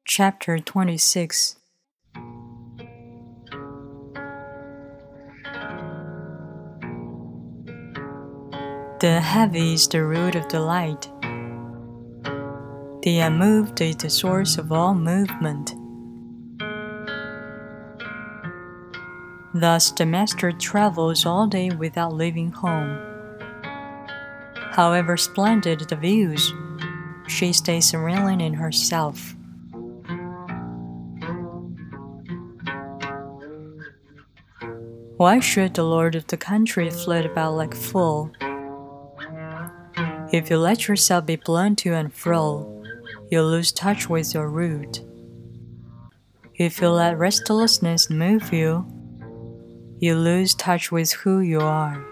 Chapter 26. The heavy is the root of delight. The unmoved is the source of all movement. Thus the master travels all day without leaving home. However splendid the views, she stays serenely in herself. Why should the lord of the country flit about like a fool? If you let yourself be blown to and fro, you'll lose touch with your root. If you let restlessness move you, you lose touch with who you are.